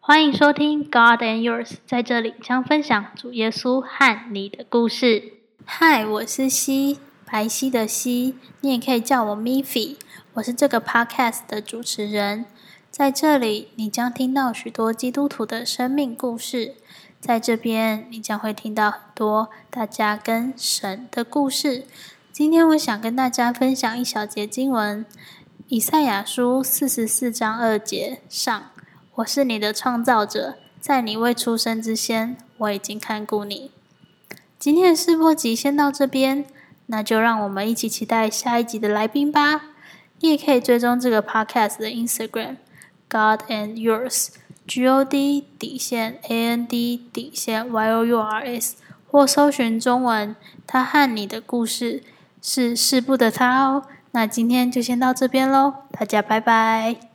欢迎收听 God and Yours， 在这里将分享主耶稣和你的故事。 嗨，我是西，白皙的皙，你也可以叫我 Miffy， 我是这个 podcast 的主持人。在这里，你将听到许多基督徒的生命故事。在这边，你将会听到很多大家跟神的故事。今天我想跟大家分享一小节经文，以赛亚书44章2节上，我是你的创造者，在你未出生之前，我已经看顾你。今天的试播集先到这边，那就让我们一起期待下一集的来宾吧。你也可以追踪这个 podcast 的 Instagram God and Yours GOD_AND_YOURS， 或搜寻中文他和你的故事是世部的他哦。那今天就先到这边咯，大家拜拜。